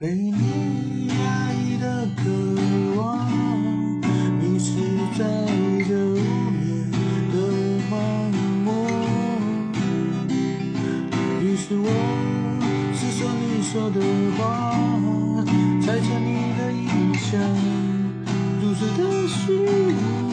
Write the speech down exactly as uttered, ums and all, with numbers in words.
被你压抑的渴望，迷失在这无眠的荒漠。于是我是说你说的话，猜测你的印象，如此的虚无。